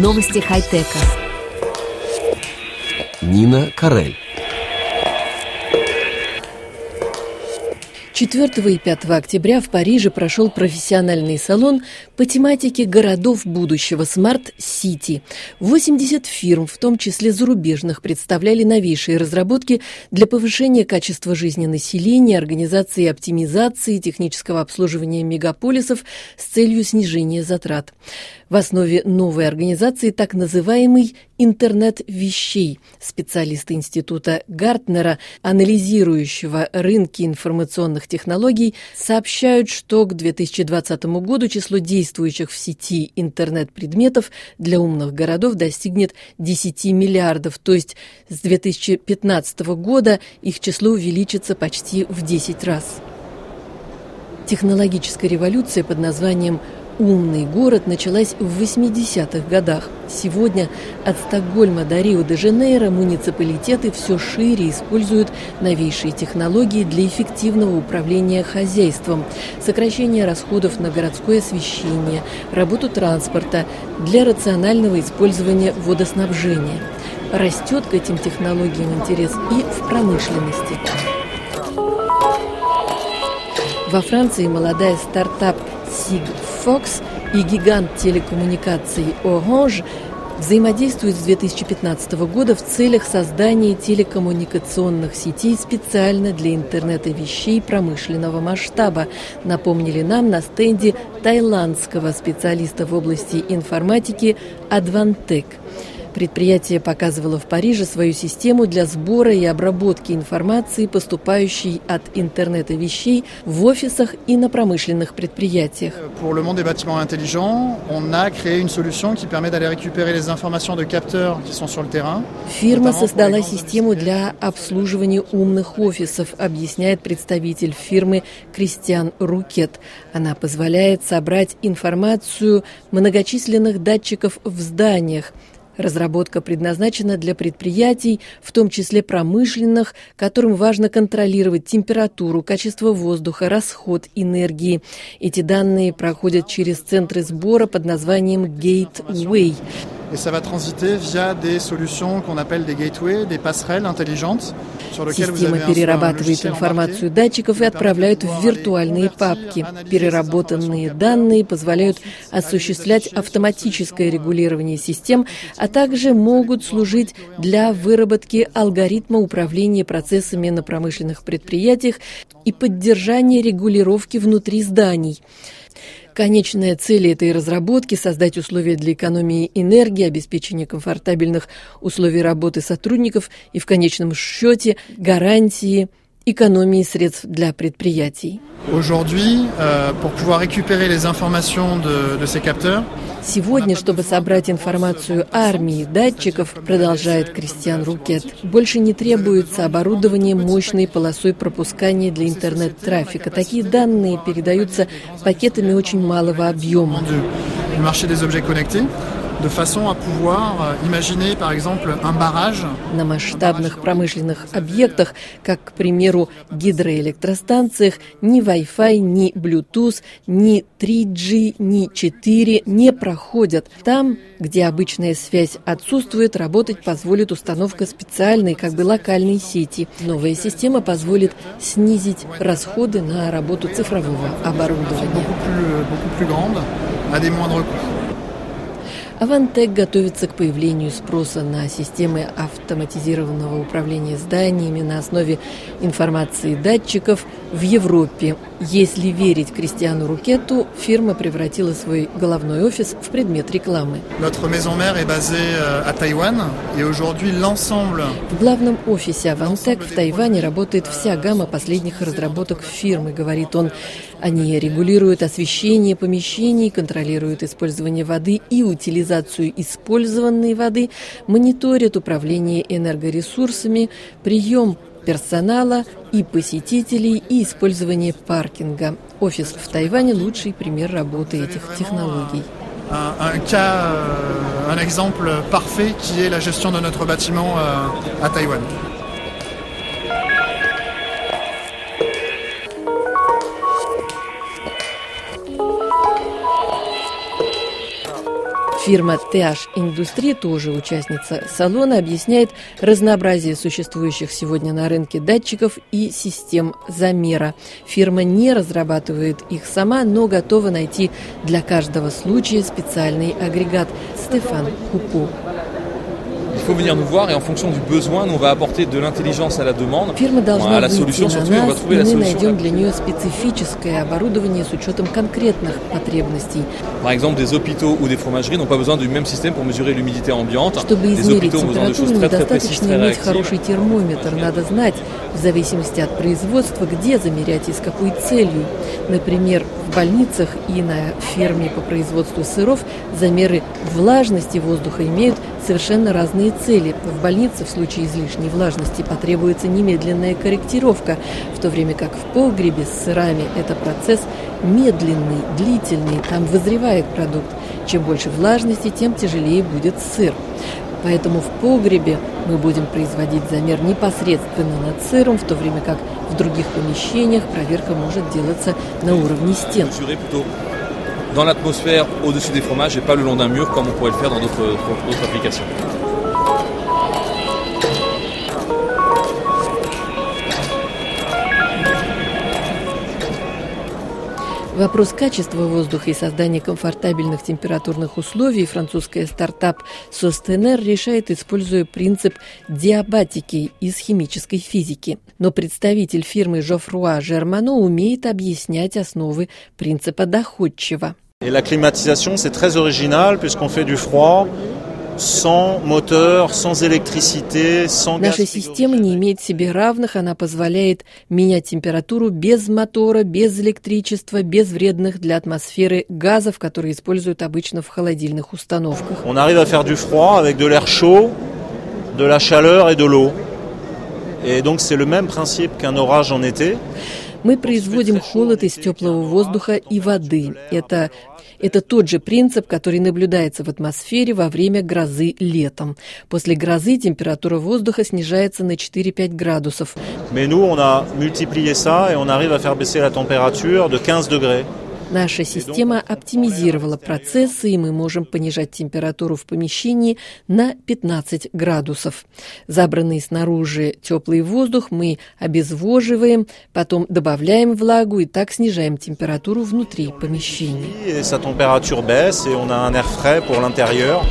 Новости хай-тека. Нина Карель. 4 и 5 октября в Париже прошел профессиональный салон по тематике городов будущего Smart City. 80 фирм, в том числе зарубежных, представляли новейшие разработки для повышения качества жизни населения, организации и оптимизации технического обслуживания мегаполисов с целью снижения затрат. В основе новой организации так называемый интернет вещей. Специалисты Института Гартнера, анализирующего рынки информационных технологий, сообщают, что к 2020 году число действующих в сети интернет-предметов для умных городов достигнет 10 миллиардов, то есть с 2015 года их число увеличится почти в 10 раз. Технологическая революция под названием «Умный город» началась в 80-х годах. Сегодня от Стокгольма до Рио-де-Жанейро муниципалитеты все шире используют новейшие технологии для эффективного управления хозяйством, сокращения расходов на городское освещение, работу транспорта, для рационального использования водоснабжения. Растет к этим технологиям интерес и в промышленности. Во Франции молодая стартап Sigfox и гигант телекоммуникаций Orange взаимодействуют с 2015 года в целях создания телекоммуникационных сетей специально для интернета вещей промышленного масштаба, напомнили нам на стенде таиландского специалиста в области информатики Advantech. Предприятие показывало в Париже свою систему для сбора и обработки информации, поступающей от интернета вещей в офисах и на промышленных предприятиях. Pour le monde des bâtiments intelligents, on a créé une solution qui permet d'aller récupérer les informations de capteurs qui sont sur le terrain. Фирма создала систему для обслуживания умных офисов, объясняет представитель фирмы Кристиан Рукет. Она позволяет собрать информацию многочисленных датчиков в зданиях. Разработка предназначена для предприятий, в том числе промышленных, которым важно контролировать температуру, качество воздуха, расход энергии. Эти данные проходят через центры сбора под названием Gateway. Et ça va transiter via des solutions qu'on appelle des gateways, des passerelles intelligentes, sur lesquelles vous avez Система перерабатывает информацию датчиков и отправляет в виртуальные папки. Переработанные данные позволяют осуществлять автоматическое регулирование систем, а также могут служить для выработки алгоритма управления процессами на промышленных предприятиях и поддержания регулировки внутри зданий. Конечная цель этой разработки – создать условия для экономии энергии, обеспечения комфортабельных условий работы сотрудников и, в конечном счете, гарантии экономии средств для предприятий. Aujourd'hui, pour pouvoir récupérer les informations de ces capteurs, сегодня, чтобы собрать информацию армии датчиков, продолжает Кристиан Рукет, больше не требуется оборудование мощной полосой пропускания для интернет-трафика. Такие данные передаются пакетами очень малого объема. de façon à pouvoir imaginer, par exemple, un barrage. На масштабных промышленных объектах, как, к примеру, гидроэлектростанциях, ни Wi-Fi, ни Bluetooth, ни 3G, ни 4 не проходят. Там, где обычная связь отсутствует, работать позволит установка специальной, как бы локальной сети. Новая система позволит снизить расходы на работу цифрового оборудования. Advantech готовится к появлению спроса на системы автоматизированного управления зданиями на основе информации датчиков в Европе. Если верить Кристиану Рукету, фирма превратила свой головной офис в предмет рекламы. В главном офисе Advantech в Тайване работает вся гамма последних разработок фирмы, говорит он. Они регулируют освещение помещений, контролируют использование воды и утилизацию использованной воды, мониторят управление энергоресурсами, прием персонала и посетителей и использование паркинга. Офис в Тайване – лучший пример работы этих технологий. Un exemple parfait qui est la gestion de notre bâtiment à Taïwan. Фирма TH Industrie, тоже участница салона, объясняет разнообразие существующих сегодня на рынке датчиков и систем замера. Фирма не разрабатывает их сама, но готова найти для каждого случая специальный агрегат. Стефан Купо. Фирма должна выйти на нас, и мы найдем для нее специфическое оборудование с учетом конкретных потребностей. Чтобы измерить температуру, недостаточно иметь хороший термометр. Надо знать, в зависимости от производства, где замерять и с какой целью. Например, в больницах и на ферме по производству сыров замеры влажности воздуха имеют совершенно разные цели. В больнице в случае излишней влажности потребуется немедленная корректировка, в то время как в погребе с сырами это процесс медленный, длительный, там вызревает продукт. Чем больше влажности, тем тяжелее будет сыр. Поэтому в погребе мы будем производить замер непосредственно над сыром, в то время как в других помещениях проверка может делаться на уровне стен. Dans l'atmosphère, au-dessus des fromages et pas le long d'un mur comme on pourrait le faire dans d'autres applications. Вопрос качества воздуха и создания комфортабельных температурных условий французская стартап Sostener решает, используя принцип диабатики из химической физики. Но представитель фирмы Geoffroy Germano умеет объяснять основы принципа доходчиво. Et la climatisation, c'est très original puisqu'on fait du froid sans moteur, sans électricité, sans gaz. Наша система не имеет себе равных, она позволяет менять температуру без мотора, без электричества, без вредных для атмосферы газов, которые используют обычно в холодильных установках. On arrive à faire du froid avec de l'air chaud, de la chaleur et de l'eau. Et donc c'est le même principe qu'un orage en été. Мы производим холод из теплого воздуха и воды. Это тот же принцип, который наблюдается в атмосфере во время грозы летом. После грозы температура воздуха снижается на 4-5 градусов. Mais nous, on a multiplié ça et on arrive à faire baisser la température de 15 degrés. Наша система оптимизировала процессы, и мы можем понижать температуру в помещении на 15 градусов. Забранный снаружи теплый воздух мы обезвоживаем, потом добавляем влагу и так снижаем температуру внутри помещения. Sa température baisse et on a un air frais pour l'intérieur.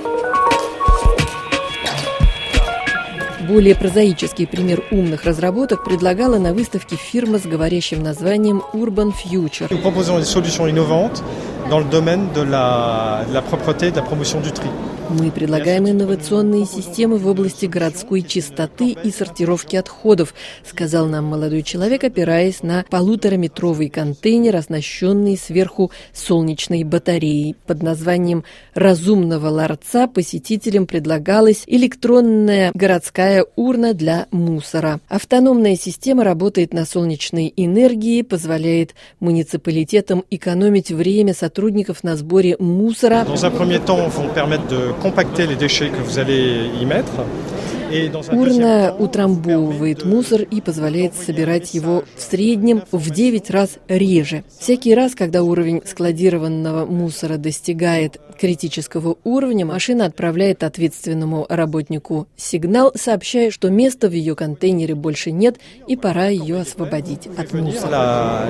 Более прозаический пример умных разработок предлагала на выставке фирма с говорящим названием Urban Future. Nous proposons des solutions innovantes dans le domaine de la propreté et de la promotion du tri. Мы предлагаем инновационные системы в области городской чистоты и сортировки отходов, сказал нам молодой человек, опираясь на 1,5-метровый контейнер, оснащенный сверху солнечной батареей. Под названием «Разумного ларца» посетителям предлагалась электронная городская урна для мусора. Автономная система работает на солнечной энергии, позволяет муниципалитетам экономить время сотрудников на сборе мусора. Dans un premier temps, vont permettre de compacter les déchets que vous allez y mettre. Урна утрамбовывает мусор и позволяет собирать его в среднем в 9 раз реже. Всякий раз, когда уровень складированного мусора достигает критического уровня, машина отправляет ответственному работнику сигнал, сообщая, что места в ее контейнере больше нет и пора ее освободить от мусора.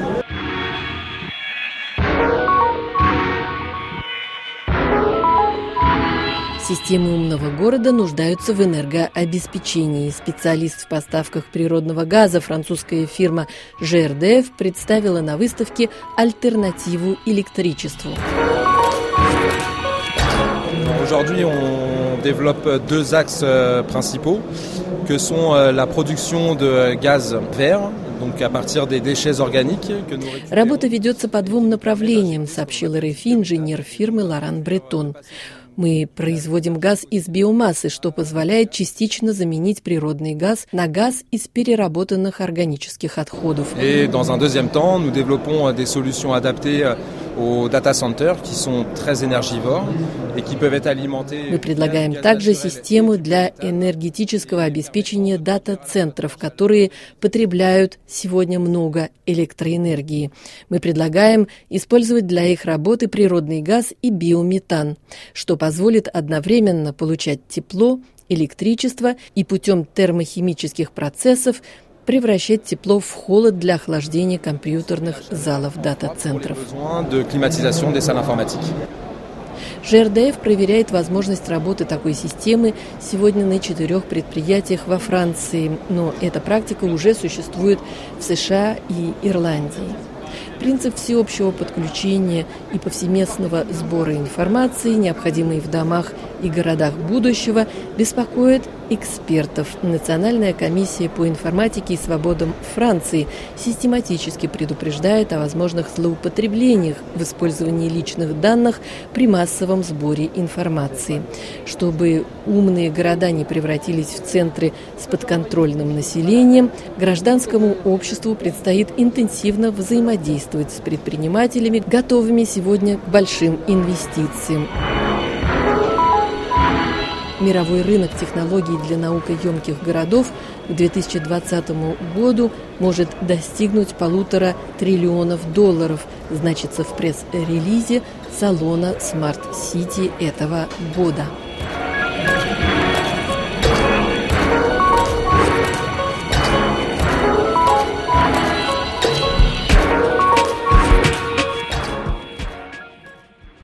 Системы умного города нуждаются в энергообеспечении. Специалист в поставках природного газа, французская фирма GRDF, представила на выставке альтернативу электричеству. Aujourd'hui, on développe deux axes principaux, que sont la production de gaz vert. Работа ведется по двум направлениям, сообщил РФИ инженер фирмы Лоран Бретон. Мы производим газ из биомассы, что позволяет частично заменить природный газ на газ из переработанных органических отходов. Et dans un deuxième temps, nous développons des solutions adaptées aux data centers qui sont très énergivores et qui peuvent être alimentés. Мы предлагаем также систему для энергетического обеспечения дата-центров, которые потребляют сегодня много электроэнергии. Мы предлагаем использовать для их работы природный газ и биометан, что позволит одновременно получать тепло, электричество и путем термохимических процессов превращать тепло в холод для охлаждения компьютерных залов дата-центров. ЖРДФ проверяет возможность работы такой системы сегодня на 4 предприятиях во Франции, но эта практика уже существует в США и Ирландии. Принцип всеобщего подключения и повсеместного сбора информации, необходимой в домах и городах будущего, беспокоит экспертов. Национальная комиссия по информатике и свободам Франции систематически предупреждает о возможных злоупотреблениях в использовании личных данных при массовом сборе информации. Чтобы умные города не превратились в центры с подконтрольным населением, гражданскому обществу предстоит интенсивно взаимодействовать с предпринимателями, готовыми сегодня к большим инвестициям. Мировой рынок технологий для наукоемких городов к 2020 году может достигнуть $1,5 триллиона, значится в пресс-релизе салона Smart City этого года.